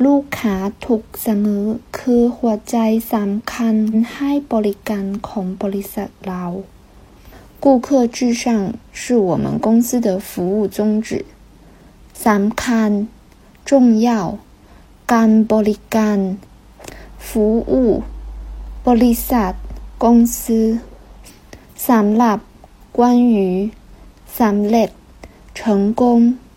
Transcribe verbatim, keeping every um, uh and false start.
ลูกค้าทุกเสมอคือหัวใจสำคัญให้บริการของบริษัทเรา顾客至上是我们公司的服务宗旨สำคัญ重要การบริการ服务บริษัท公司สำหรับ关于สำเร็จ成功